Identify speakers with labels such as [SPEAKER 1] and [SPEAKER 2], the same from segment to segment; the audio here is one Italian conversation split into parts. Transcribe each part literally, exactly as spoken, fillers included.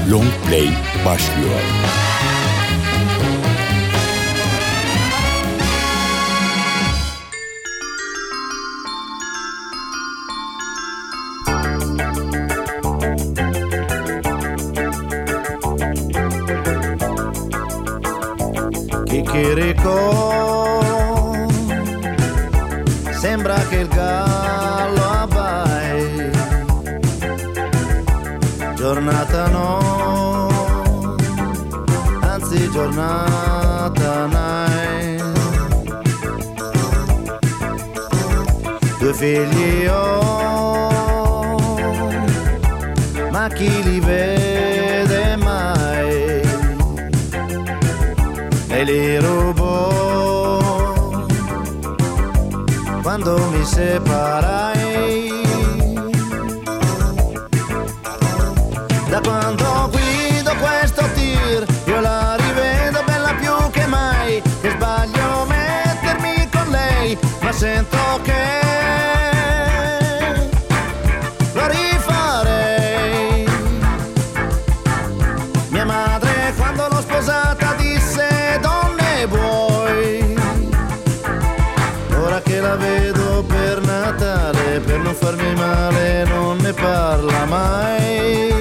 [SPEAKER 1] Long Play başlıyor.
[SPEAKER 2] Chicchirico, sembra che il gallo abbai, giornata no, anzi giornata night. Due figli ho, ma chi li vede mai? E li rubo quando mi separai. Da quando guido questo tir io la rivedo bella più che mai. Che sbaglio mettermi con lei, ma sento che lo rifarei. Mia madre quando l'ho sposata disse: donne vuoi? Ora che la vedo per Natale, per non farmi male non ne parla mai.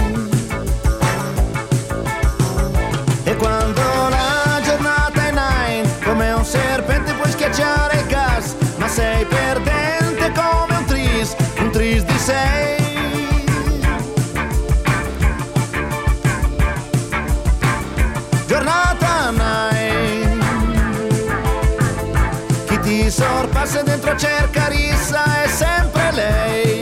[SPEAKER 2] E quando la giornata è nine, come un serpente puoi schiacciare il gas, ma sei perdente come un tris, un tris di sei. Giornata nine, chi ti sorpassa dentro cerca rissa, è sempre lei.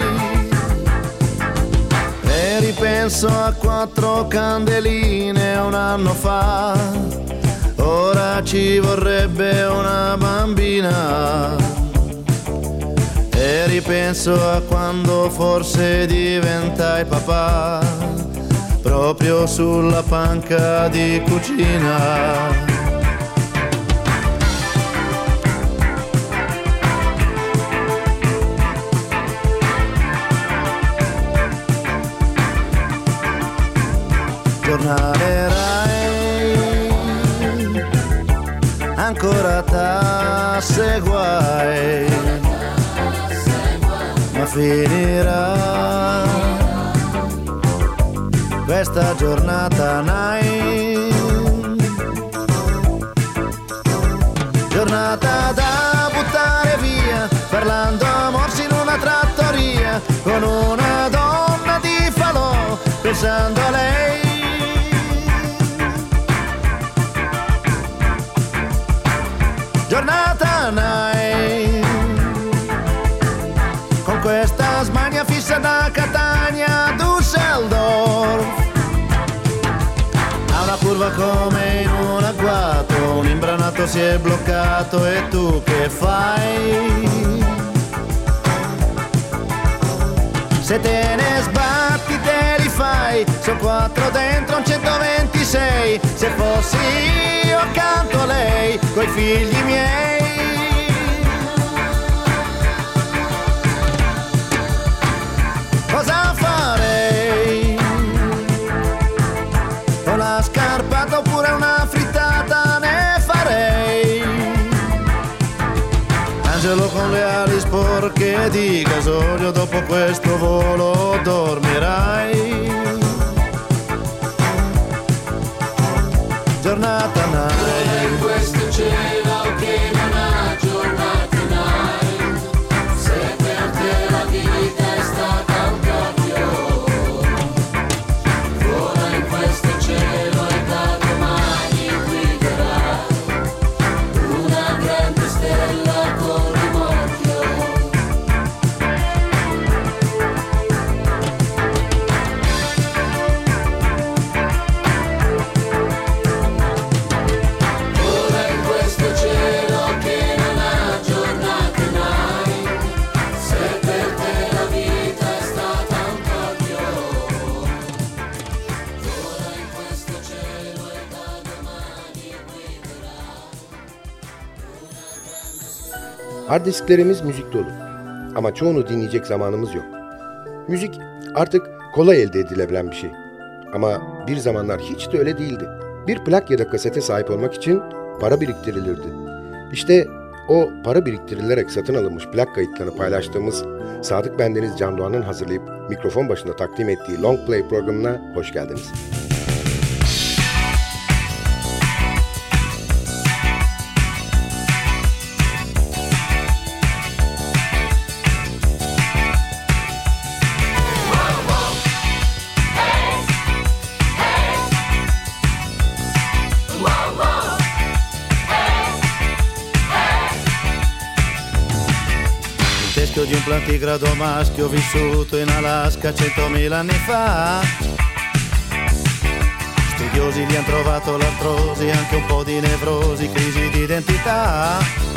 [SPEAKER 2] E ripenso a quattro candeline un anno fa, ora ci vorrebbe una bambina. E ripenso a quando forse diventai papà, proprio sulla panca di cucina. Giornale Rai, ancora tasse guai, ma finirà questa giornata nine. Giornata da buttare via, parlando a morsi in una trattoria, con una donna di falò, pensando a lei. Giornata nine, con questa smania fissa da Catania a Düsseldorf. A una curva come in un agguato, un imbranato si è bloccato e tu che fai? Se te ne sbatti te li fai, sono quattro dentro un centoventisei. Se fossi io accanto a lei, coi figli miei. Cosa farei? Una scarpata oppure una frittata ne farei. Angelo con le ali sporche di gasolio, dopo questo volo dormirai. Giornata night, in questo cielo che non ha giornata night. Se per te la vita è stata un cappio, vola in questo cielo e da domani guiderà una grande stella con rimorchio.
[SPEAKER 3] Hard disklerimiz müzik dolu. Ama çoğunu dinleyecek zamanımız yok. Müzik artık kolay elde edilebilen bir şey. Ama bir zamanlar hiç de öyle değildi. Bir plak ya da kasete sahip olmak için para biriktirilirdi. İşte o para biriktirilerek satın alınmış plak kayıtlarını paylaştığımız Sadık Bendeniz Can Doğan'ın hazırlayıp mikrofon başında takdim ettiği Long Play programına hoş geldiniz.
[SPEAKER 2] Di un plantigrado maschio vissuto in Alaska centomila anni fa. Studiosi gli han trovato l'artrosi, anche un po' di nevrosi, crisi di identità.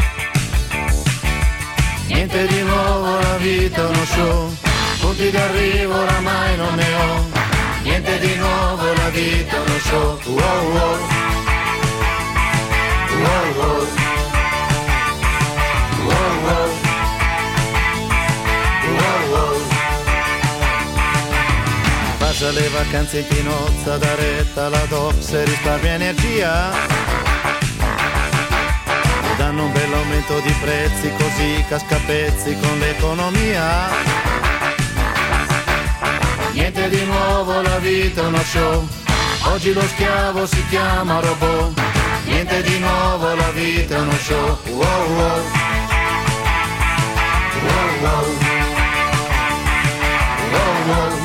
[SPEAKER 2] Niente di nuovo, la vita è uno show, punti d'arrivo oramai non ne ho. Niente di nuovo, la vita è uno show. Wow, wow. Wow, wow. Wow, wow. Passa le vacanze in Pinozza, da retta alla Docs e risparmia energia. E danno un bell'aumento di prezzi, così casca a pezzi con l'economia. Niente di nuovo, la vita è uno show, oggi lo schiavo si chiama robot. Niente di nuovo, la vita è uno show. Wow, wow. Wow, wow. Wow, wow.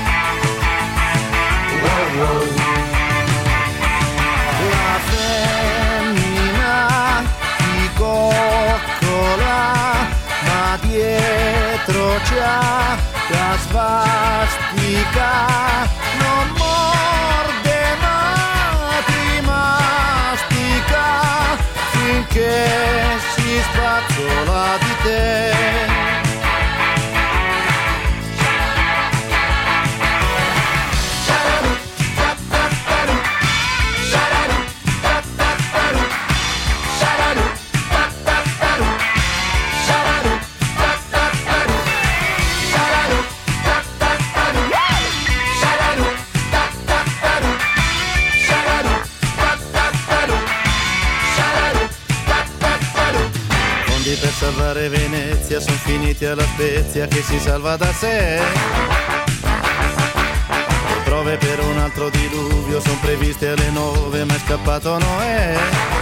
[SPEAKER 2] La femmina ti coccola, ma dietro c'ha la svastica. Non morde ma ti mastica, finché si spazzola di te. Per salvare Venezia son finiti alla Spezia che si salva da sé. Le prove per un altro diluvio son previste alle nove, ma è scappato Noè.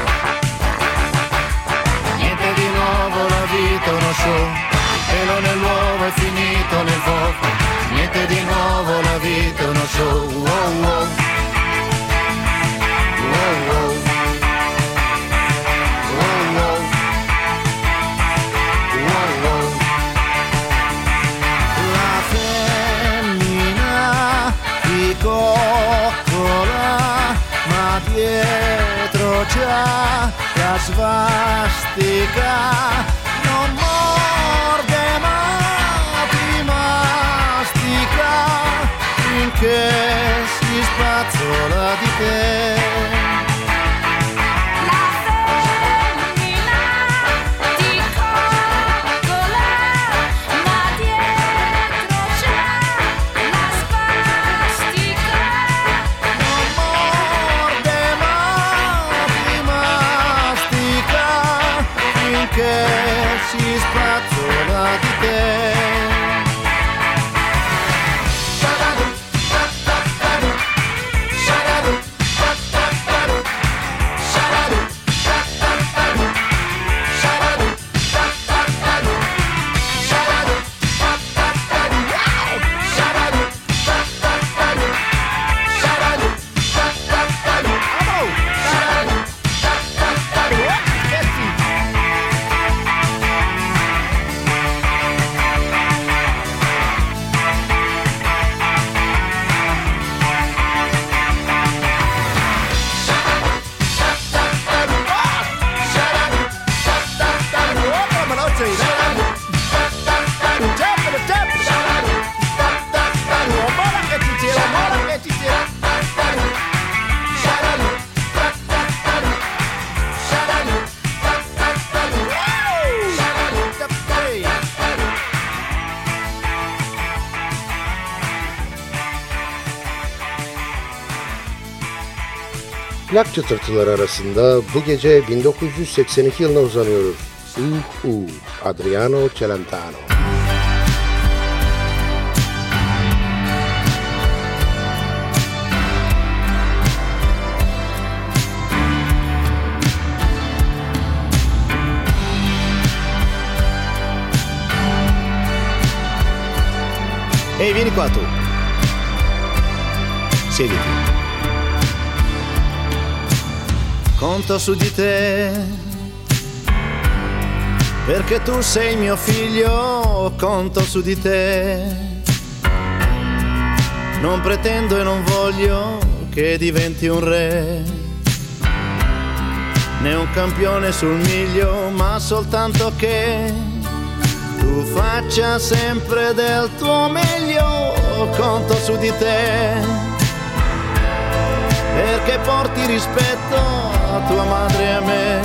[SPEAKER 2] Niente di nuovo, la vita è uno show, il pelo nell'uovo è finito nel fuoco. Niente di nuovo, la vita è uno show. Wow, wow. Wow, wow. Coccola, ma dietro c'ha la svastica. Non morde ma ti mastica, finché si spazzola di te. Che si spazzola di te. Shabadu,
[SPEAKER 3] plak çıtırtıları arasında bu gece bin dokuz yüz seksen iki yılına uzanıyoruz. Uhu, Adriano Celentano.
[SPEAKER 2] Ehi, vieni qua tu. Siediti. Conto su di te, perché tu sei mio figlio, conto su di te. Non pretendo e non voglio che diventi un re, né un campione sul miglio, ma soltanto che tu faccia sempre del tuo meglio, conto su di te, perché porti rispetto a tua madre e a me,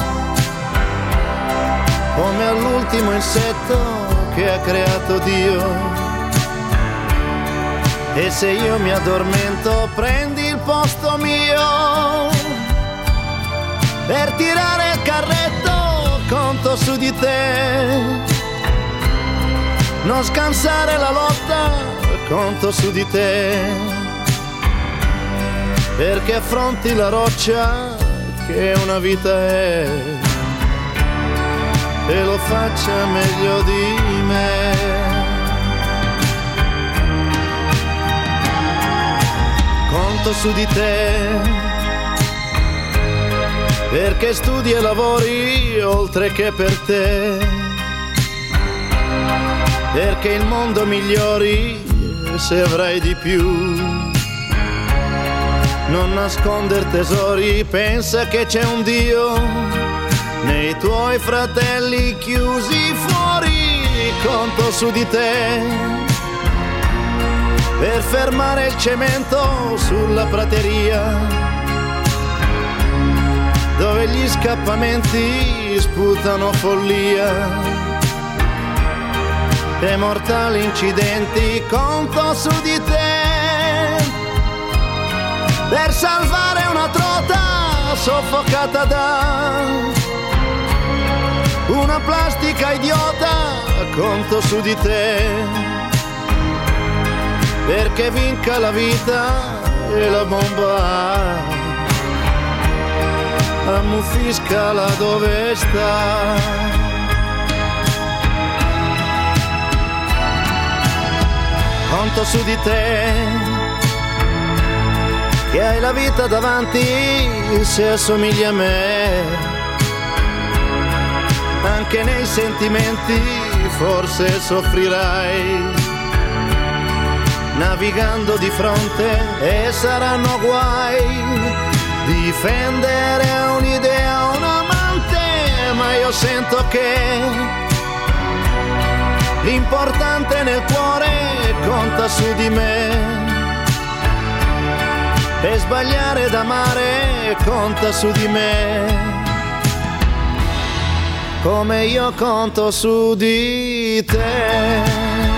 [SPEAKER 2] come all'ultimo insetto che ha creato Dio. E se io mi addormento prendi il posto mio, per tirare il carretto conto su di te. Non scansare la lotta, conto su di te, perché affronti la roccia che una vita è, e lo faccia meglio di me. Conto su di te, perché studi e lavori oltre che per te, perché il mondo migliori se avrai di più. Non nasconder tesori, pensa che c'è un Dio nei tuoi fratelli chiusi fuori, conto su di te, per fermare il cemento sulla prateria, dove gli scappamenti sputano follia. E mortali incidenti, conto su di te, per salvare una trota soffocata da una plastica idiota, conto su di te, perché vinca la vita e la bomba ammuffiscala dove sta. Conto su di te, che hai la vita davanti se assomigli a me, anche nei sentimenti forse soffrirai, navigando di fronte e saranno guai, difendere un'idea, un amante, ma io sento che l'importante nel cuore conta su di me, e sbagliare d'amare conta su di me, come io conto su di te.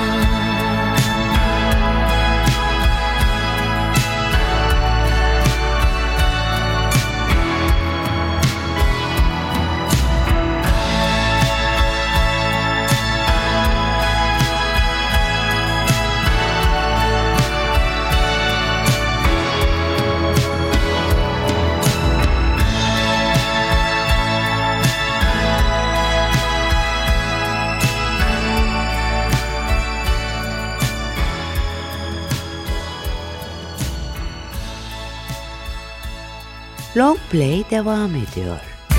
[SPEAKER 4] Long Play devam ediyor.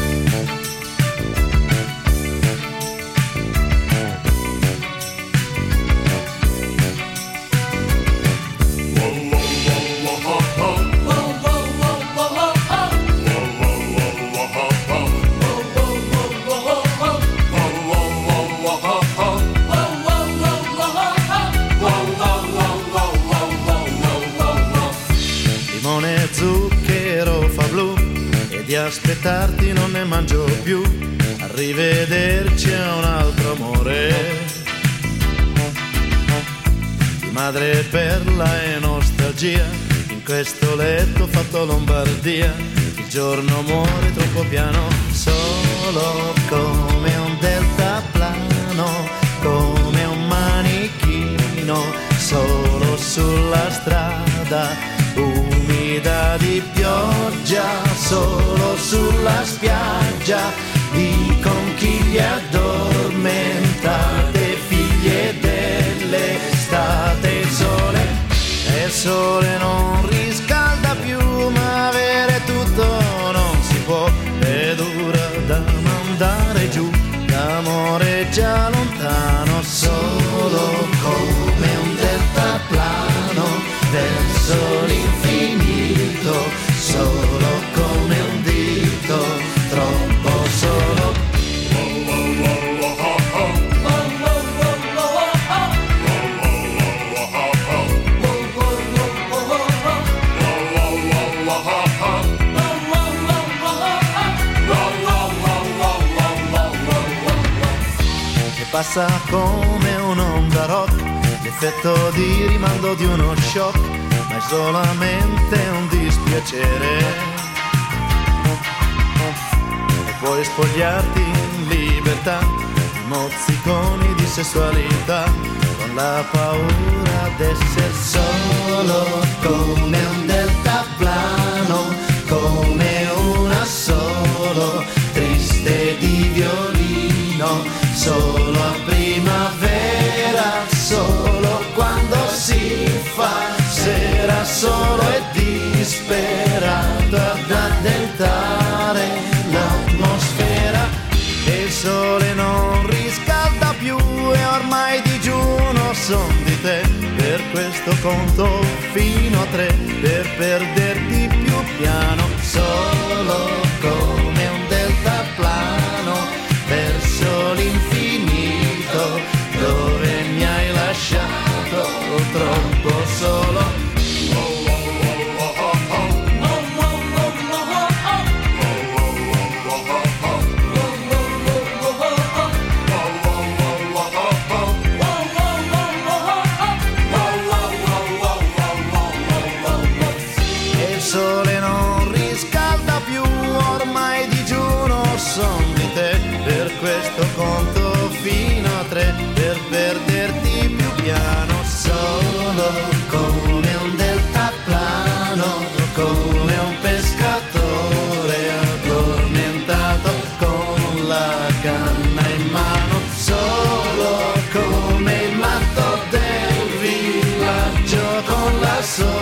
[SPEAKER 2] Limone, zucchero fa blu, e di aspettarti non ne mangio più. Arrivederci a un altro amore, di madre perla e nostalgia, in questo letto fatto Lombardia. giorno muore troppo piano, solo come un deltaplano, come un manichino, solo sulla strada, umida di pioggia, solo sulla spiaggia, di conchiglie addormentate, figlie dell'estate. Il sole, e il sole non riscalda più, ma avere tutto non si può, è dura da mandare giù, l'amore è già lontano, solo come un deltaplano verso l'infinito, solo come un dito, troppo solo. Passa come un'onda rock, l'effetto di rimando di uno shock, ma è solamente un dispiacere. E puoi spogliarti in libertà, mozziconi di sessualità, con la paura d'essere solo come un deltaplano, come un assolo triste di violino. Solo a primavera, solo quando si fa sera, solo e disperato ad addentare l'atmosfera. E il sole non riscalda più e ormai digiuno son di te. Per questo conto fino a tre, per perderti più piano, solo come un deltaplano verso l'infinito, dove mi hai lasciato troppo solo. E il sole non riscalda più, ormai digiuno son di te. Per questo conto fino a tre, per perderti più piano, solo come un deltaplano, come un pescatore addormentato con la canna in mano, solo come il matto del villaggio, con la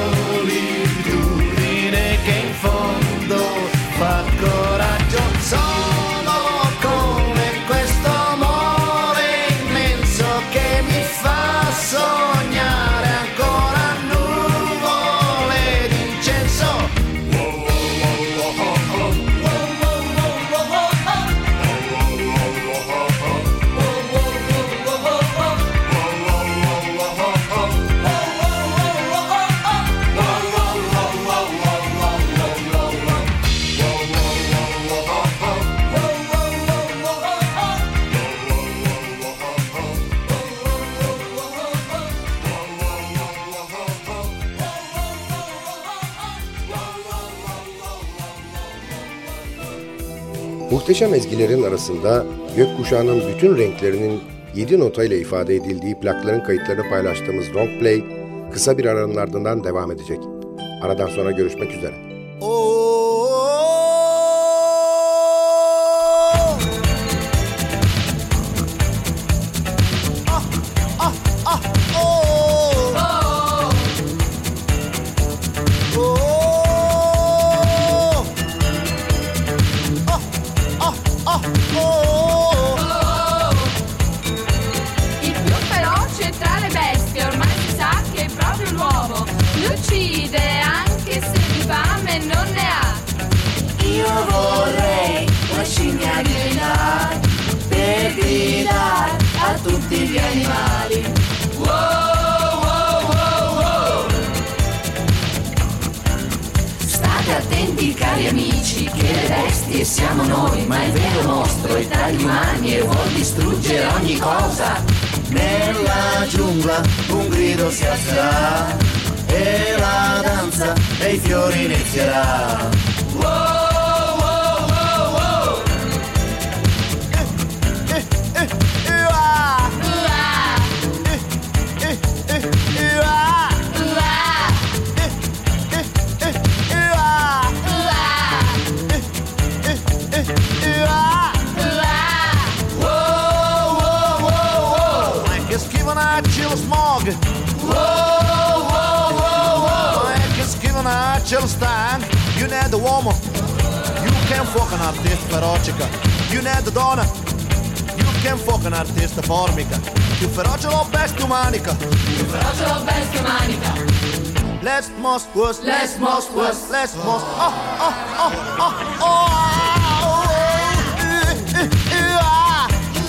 [SPEAKER 2] solitudine che in fondo fa coraggio. Solo sognare ancora nuvole d'incenso.
[SPEAKER 3] Muhteşem ezgilerin arasında gökkuşağının bütün renklerinin yedi notayla ifade edildiği plakların kayıtlarını paylaştığımız Long Play kısa bir aranın ardından devam edecek. Aradan sonra görüşmek üzere.
[SPEAKER 5] Tutti gli animali. Wow, wow, wow, wow. State attenti cari amici, che le bestie siamo noi, ma il vero mostro è tra gli umani e vuol distruggere ogni cosa.
[SPEAKER 2] Nella giungla un grido si alzerà e la danza dei fiori inizierà.
[SPEAKER 5] Wow.
[SPEAKER 2] faccio stanco, you need a uomo, you can fuck un artista ferocica, you need a donna, you can fuck un artista formica, più feroce lo bestia umanica,
[SPEAKER 5] più feroce lo bestia umanica.
[SPEAKER 2] Let's most was,
[SPEAKER 5] let's most was,
[SPEAKER 2] let's most, oh, oh, oh, oh, oh, oh, uh, uh, uh, uh,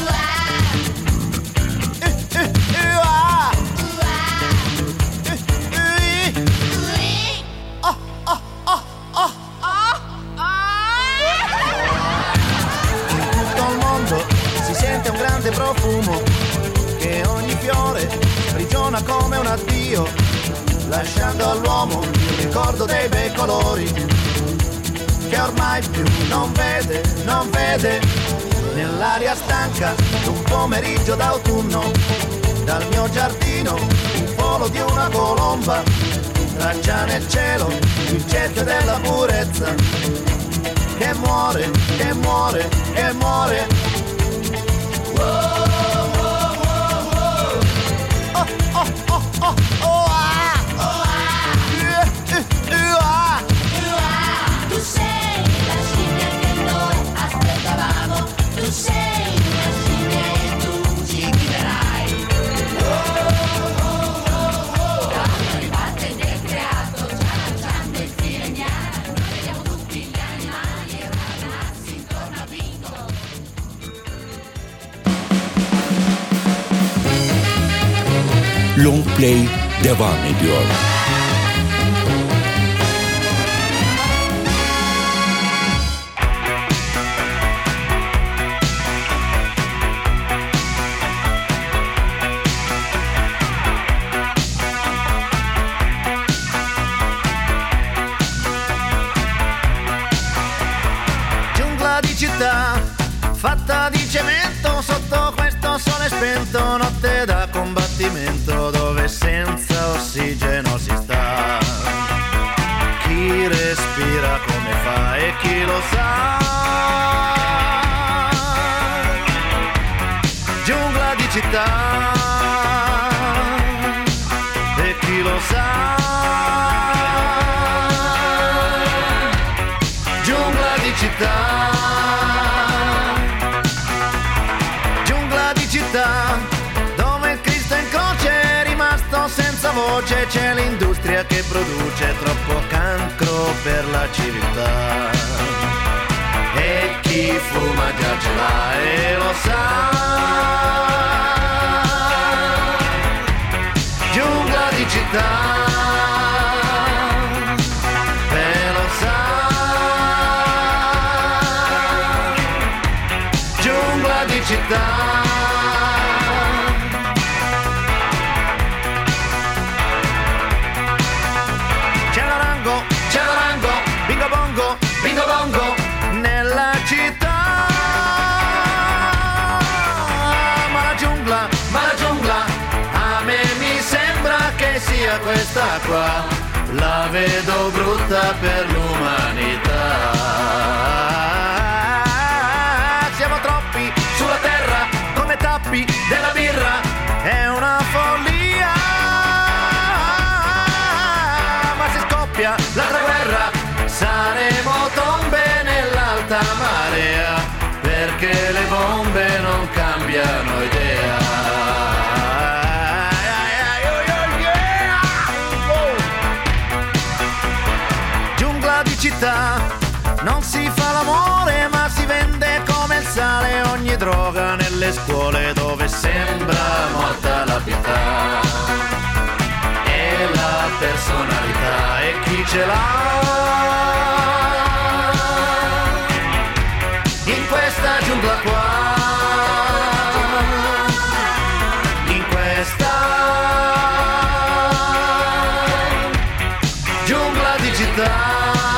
[SPEAKER 2] un grande profumo che ogni fiore sprigiona come un addio, lasciando all'uomo il ricordo dei bei colori che ormai più non vede, non vede. Nell'aria stanca d'un pomeriggio d'autunno, dal mio giardino il volo di una colomba traccia nel cielo il cerchio della purezza che muore, che muore, che muore. Oh, oh, oh, oh, oh, oh, oh, ah. Oh, ah. Yeah, uh, uh, ah.
[SPEAKER 5] Uh, ah. Tu sei la scimmia che noi aspettavamo, tu sei una scimmia e tu ci guiderai. Oh, oh, oh, oh. Proprio riparte ed è creato, già lanciando il sireniano. Noi vediamo tutti gli animali e ragazzi intorno a Bingo.
[SPEAKER 1] Long Play devam ediyor.
[SPEAKER 2] Giungla di città fatta di cemento sotto questo sole spento, notte da combattimento dove senza ossigeno si sta. Chi respira come fa e chi lo sa. Giungla di città e chi lo sa. Giungla di città. Dove il Cristo in croce è rimasto senza voce, c'è l'industria che produce troppo cancro per la civiltà. E chi fuma già ce l'ha e lo sa. Giungla di città, e lo sa. Giungla di città. Bingo bongo, bingo bongo, nella città. Ma la giungla, ma la giungla, a me mi sembra che sia questa qua. La vedo brutta per l'umanità. Siamo troppi sulla terra come tappi della birra. È una follia. Ma se scoppia l'altra guerra saremo tombe nell'alta marea, perché le bombe non cambiano idea. Giungla di città, non si fa l'amore ma si vende come il sale ogni droga nelle scuole dove sembra morta la pietà. E la personalità e chi ce l'ha. In questa giungla qua, in questa giungla di città.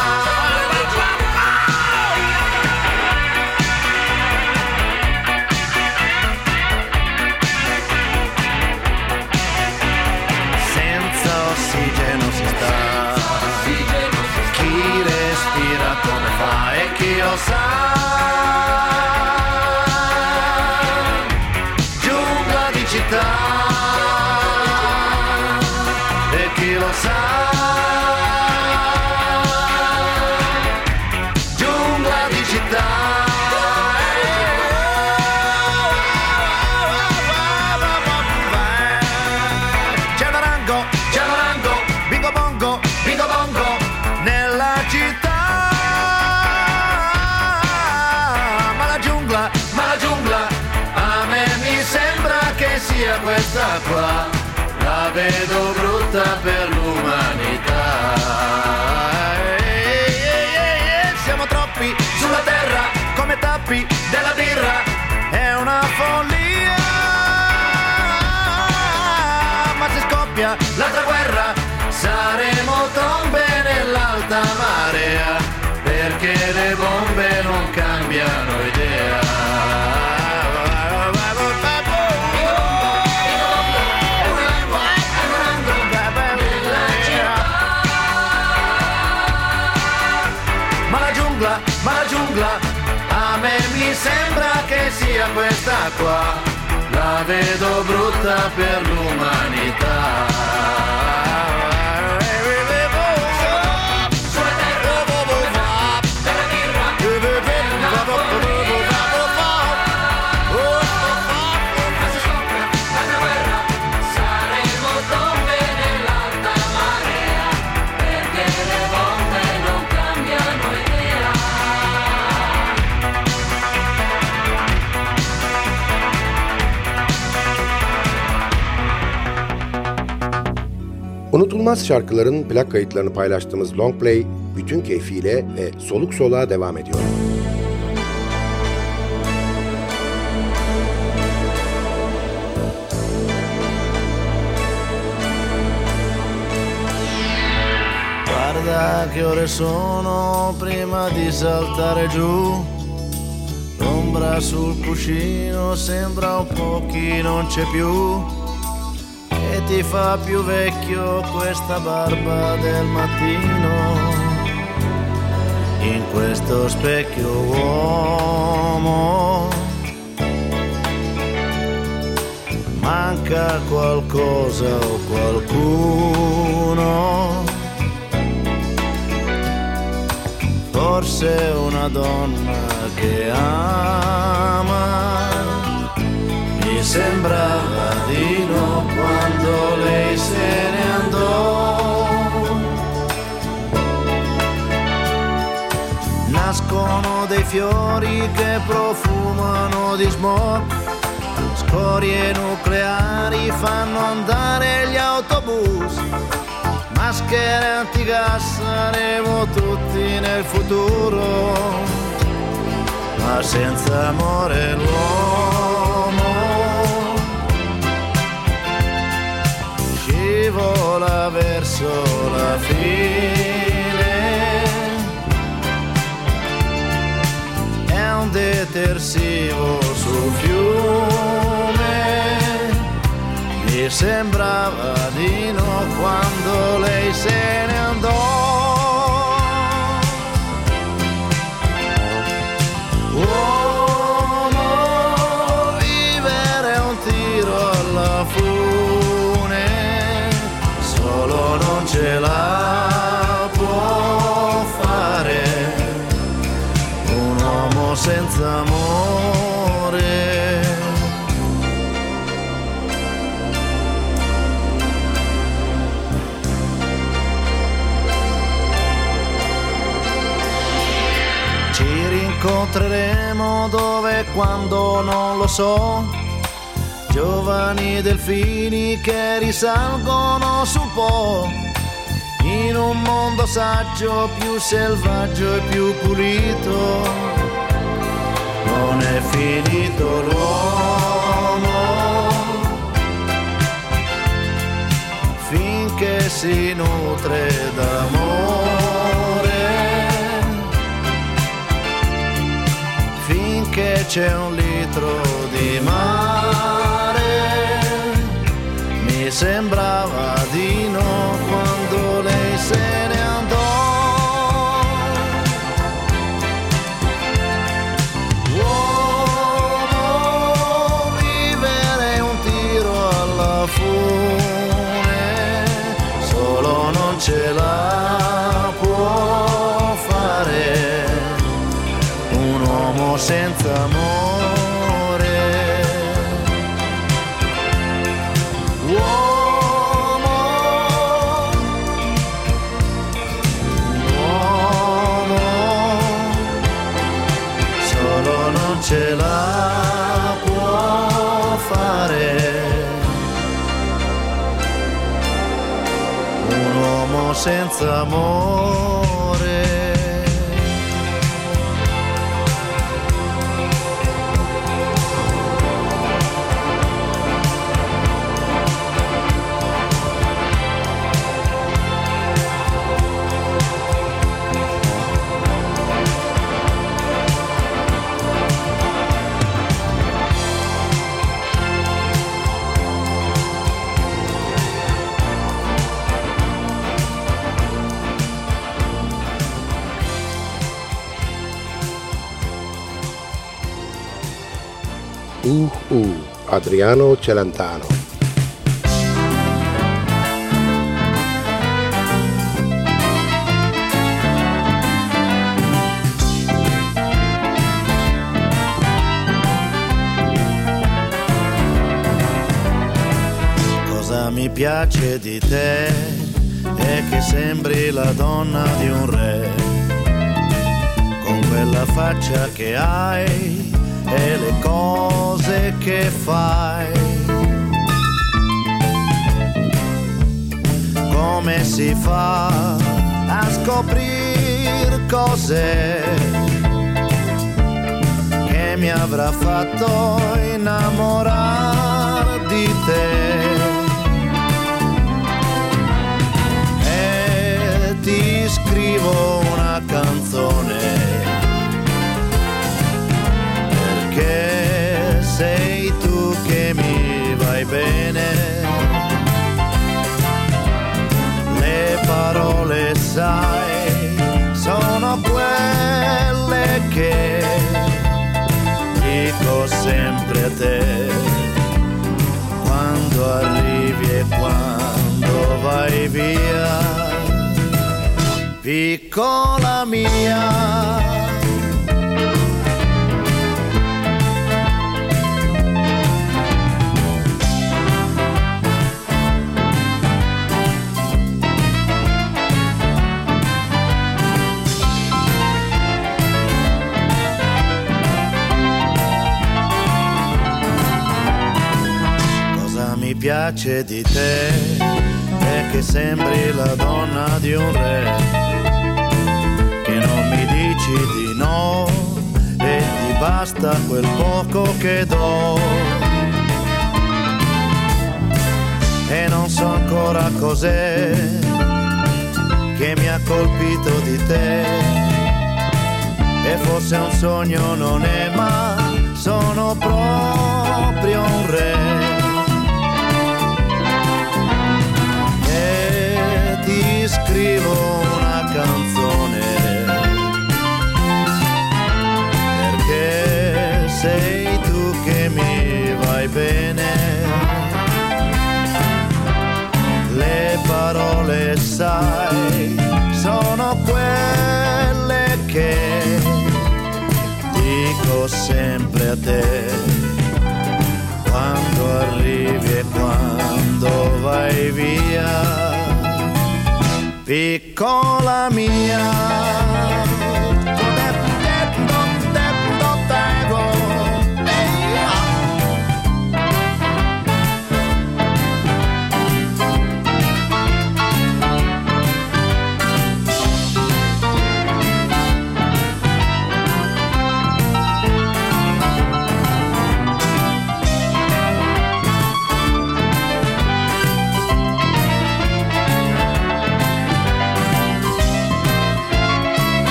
[SPEAKER 2] Senza ossigeno si sta, chi respira come fa e chi lo sa. E chi lo sa. Ciabarango, bingo bongo, bingo bongo, nella città. Ma la giungla, ma la giungla, a me mi sembra che sia questa qua. La vedo brutta per l'umanità. Ehi, ehi, ehi, ehi, siamo troppi sulla terra come tappi della birra. È una follia. Ma se scoppia l'altra guerra saremo tombe nell'alta marea, perché le bombe non cambiano idea. Ma la giungla, a me mi sembra che sia questa qua. La vedo brutta per l'umanità.
[SPEAKER 3] Unutulmaz şarkıların plak kayıtlarını paylaştığımız Long Play bütün keyfiyle ve soluk soluğa devam ediyor.
[SPEAKER 2] Guarda che ore sono prima di saltare giù. L'ombra sul cuscino sembra un po' chi non c'è più. E ti fa più vecchio questa barba del mattino. In questo specchio uomo manca qualcosa o qualcuno. Forse una donna che ama. Mi sembrava di no quando lei se ne andò. Nascono dei fiori che profumano di smog. Scorie nucleari fanno andare gli autobus. Maschere antigas, saremo tutti nel futuro. Ma senza amore l'uomo scivola verso la fine. È un detersivo sul fiume. Mi sembrava di no quando lei se ne andò. Uomo, vivere è un tiro alla fune. Solo non ce la può fare un uomo senza amore. Incontreremo dove e quando non lo so. Giovani delfini che risalgono sul Po. In un mondo saggio, più selvaggio e più pulito. Non è finito l'uomo finché si nutre d'amore. Che c'è un litro di mare. Mi sembrava di no quando lei se ne andò. Uomo, vivere è un tiro alla fune. Solo non ce la può fare un uomo senza amore. Uomo, un uomo senza amore.
[SPEAKER 3] Uh, uh, Adriano Celentano.
[SPEAKER 2] Cosa mi piace di te è che sembri la donna di un re, con quella faccia che hai e le cose che fai. Come si fa a scoprire cose che mi avrà fatto innamorare di te? E ti scrivo una canzone che sei tu che mi vai bene. Le parole, sai, sono quelle che dico sempre a te, quando arrivi e quando vai via, piccola mia. Mi piace di te è che sembri la donna di un re, che non mi dici di no e ti basta quel poco che do. E non so ancora cos'è che mi ha colpito di te, e forse un sogno non è, ma sono proprio un re. Ti scrivo una canzone perché sei tu che mi vai bene. Le parole, sai, sono quelle che dico sempre a te, quando arrivi e quando vai via, piccola mia.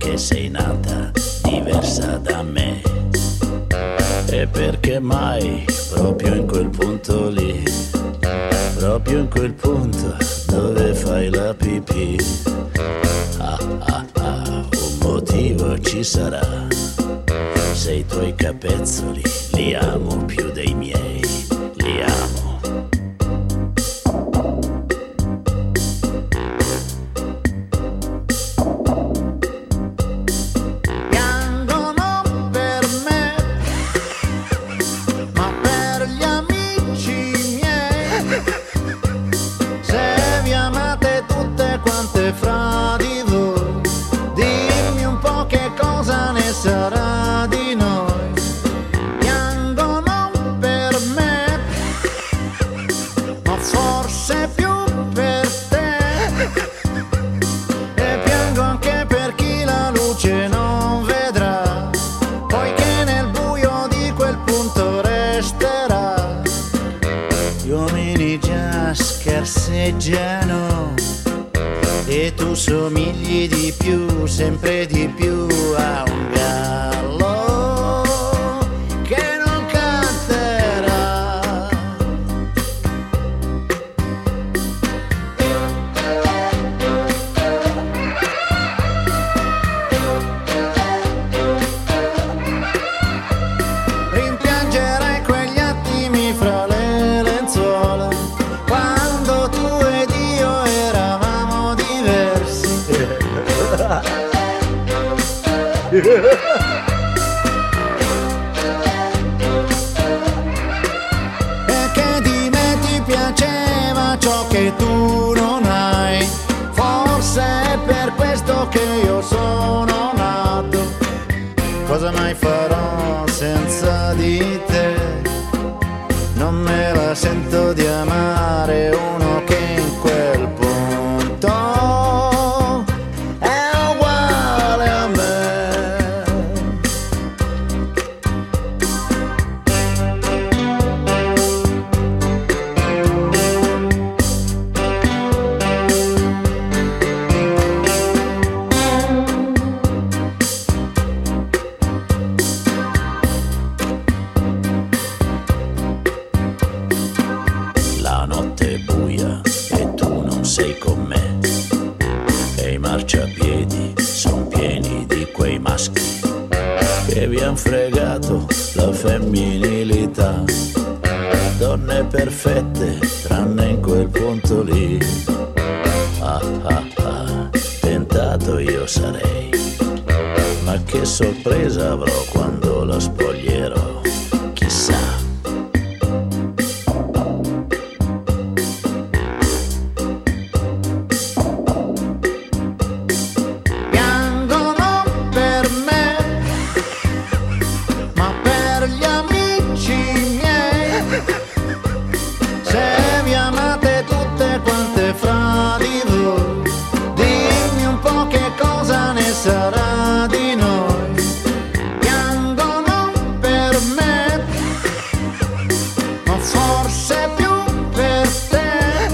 [SPEAKER 6] che sei nata diversa da me. E perché mai proprio in quel punto lì, proprio in quel punto dove fai la pipì? Ah ah ah, un motivo ci sarà, se i tuoi capezzoli li amo più dei miei, li amo.
[SPEAKER 2] Fra di voi, dimmi un po' che cosa ne sarà di noi. Piangono per me, ma forse più per te. E piango anche per chi la luce non vedrà, poiché nel buio di quel punto resterà. Gli uomini già scarseggiano e tu somigli di più, sempre di più a un gallo che non canterà. Rimpiangerai quegli attimi fra le lenzuola, quando tu ed io eravamo diversi. E che di me ti piaceva ciò che tu non hai, forse è per questo che io sono nato. Cosa mai farò senza di te? Non me la sento di amare uno che in quel punto è uguale a me. La notte è buia e tu non sei con me, e i marciapiedi son pieni di quei maschi che vi han fregato la femminilità. Donne perfette tranne in quel punto lì. Ah ah ah, tentato io sarei, ma che sorpresa avrò quando la spoglierò, chissà. Piangono per me, ma per gli amici miei, se vi amate tutte quante fra di voi, dimmi un po' che cosa ne sarà di noi. Piangono per me, ma forse più per te.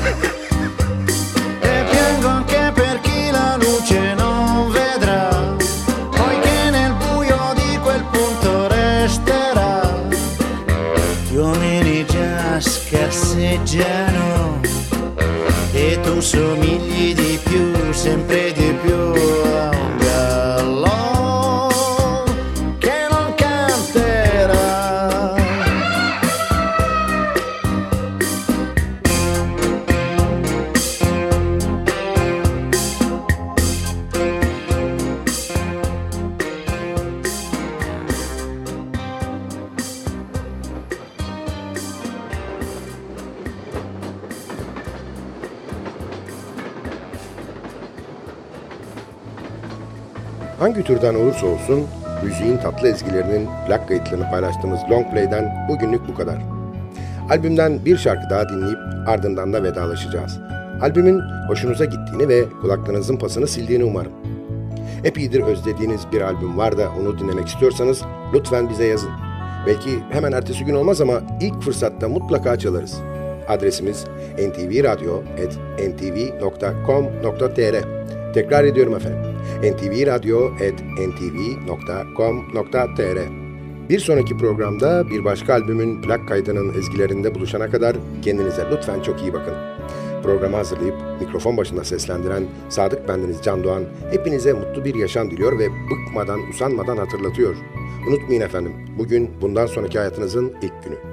[SPEAKER 2] E piango anche per chi la luce non vedrà, poiché nel buio di quel punto resterà. Gli uomini già scarseggiano e tu somigli di più, sempre di più a un gallo che non canterà.
[SPEAKER 3] Hangi türden olursa olsun müziğin tatlı ezgilerinin plak kayıtlarını paylaştığımız Long Play'den bugünlük bu kadar. Albümden bir şarkı daha dinleyip ardından da vedalaşacağız. Albümün hoşunuza gittiğini ve kulaklarınızın pasını sildiğini umarım. Epeydir özlediğiniz bir albüm var da onu dinlemek istiyorsanız lütfen bize yazın. Belki hemen ertesi gün olmaz ama ilk fırsatta mutlaka çalarız. Adresimiz en ti vi radyo at en ti vi nokta com nokta t r. Tekrar ediyorum efendim. en ti vi radyo at en ti vi nokta com nokta t r. Bir sonraki programda bir başka albümün plak kaydının ezgilerinde buluşana kadar kendinize lütfen çok iyi bakın. Programı hazırlayıp mikrofon başında seslendiren Sadık bendeniz Can Doğan hepinize mutlu bir yaşam diliyor ve bıkmadan, usanmadan hatırlatıyor. Unutmayın efendim, bugün bundan sonraki hayatınızın ilk günü.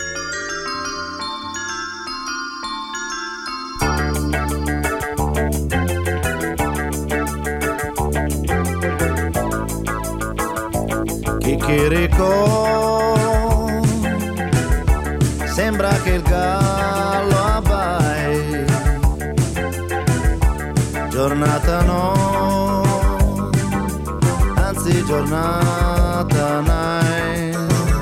[SPEAKER 2] Chicchirico, sembra che il gallo abbai, giornata no, anzi giornata night.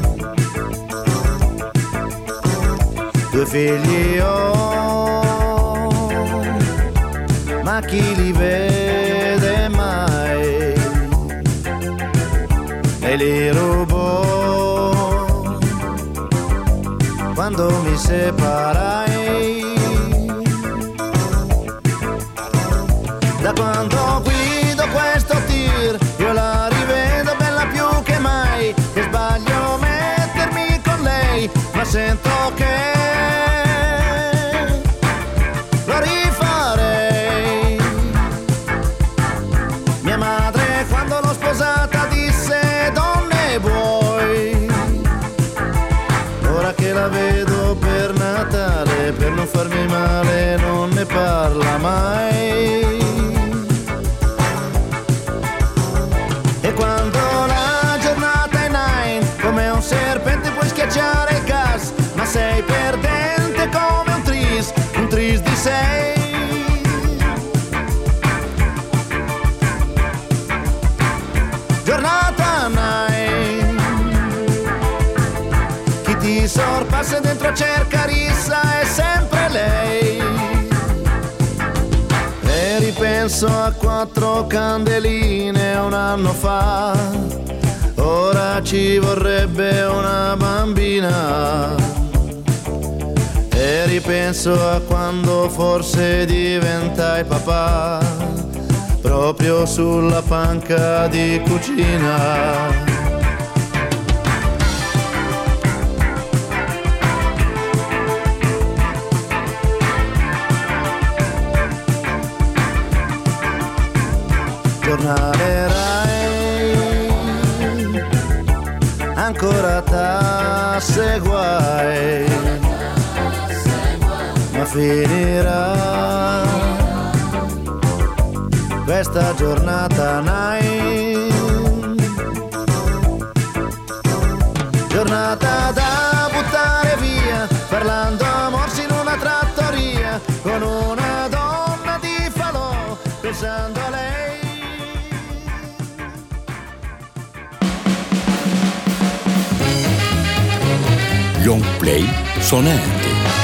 [SPEAKER 2] Due figli ho, ma chi li vede mai? E li rubo quando mi separai. Da quando guido questo tir io la rivedo bella più che mai. E sbaglio mettermi con lei, ma sento che lo rifarei. Mia madre quando l'ho sposata disse: donne vuoi? Ora che la vedo per Natale, per non farmi male non ne parla mai. E quando la giornata è nine, come un serpente puoi schiacciare il gas, ma sei perdente come un tris, un tris di sei. Giornata nine, chi ti sorpassa dentro cerca rissa è sempre lei. E ripenso a quattro candeline un anno fa, ora ci vorrebbe una bambina. E ripenso a quando forse diventai papà, proprio sulla panca di cucina. Giornale Rai, ancora tasse guai, ma finirà questa giornata nine, giornata da buttare via, parlando a morsi in una trattoria, con una donna di falò, pensando a lei.
[SPEAKER 1] Long Play sona erdi.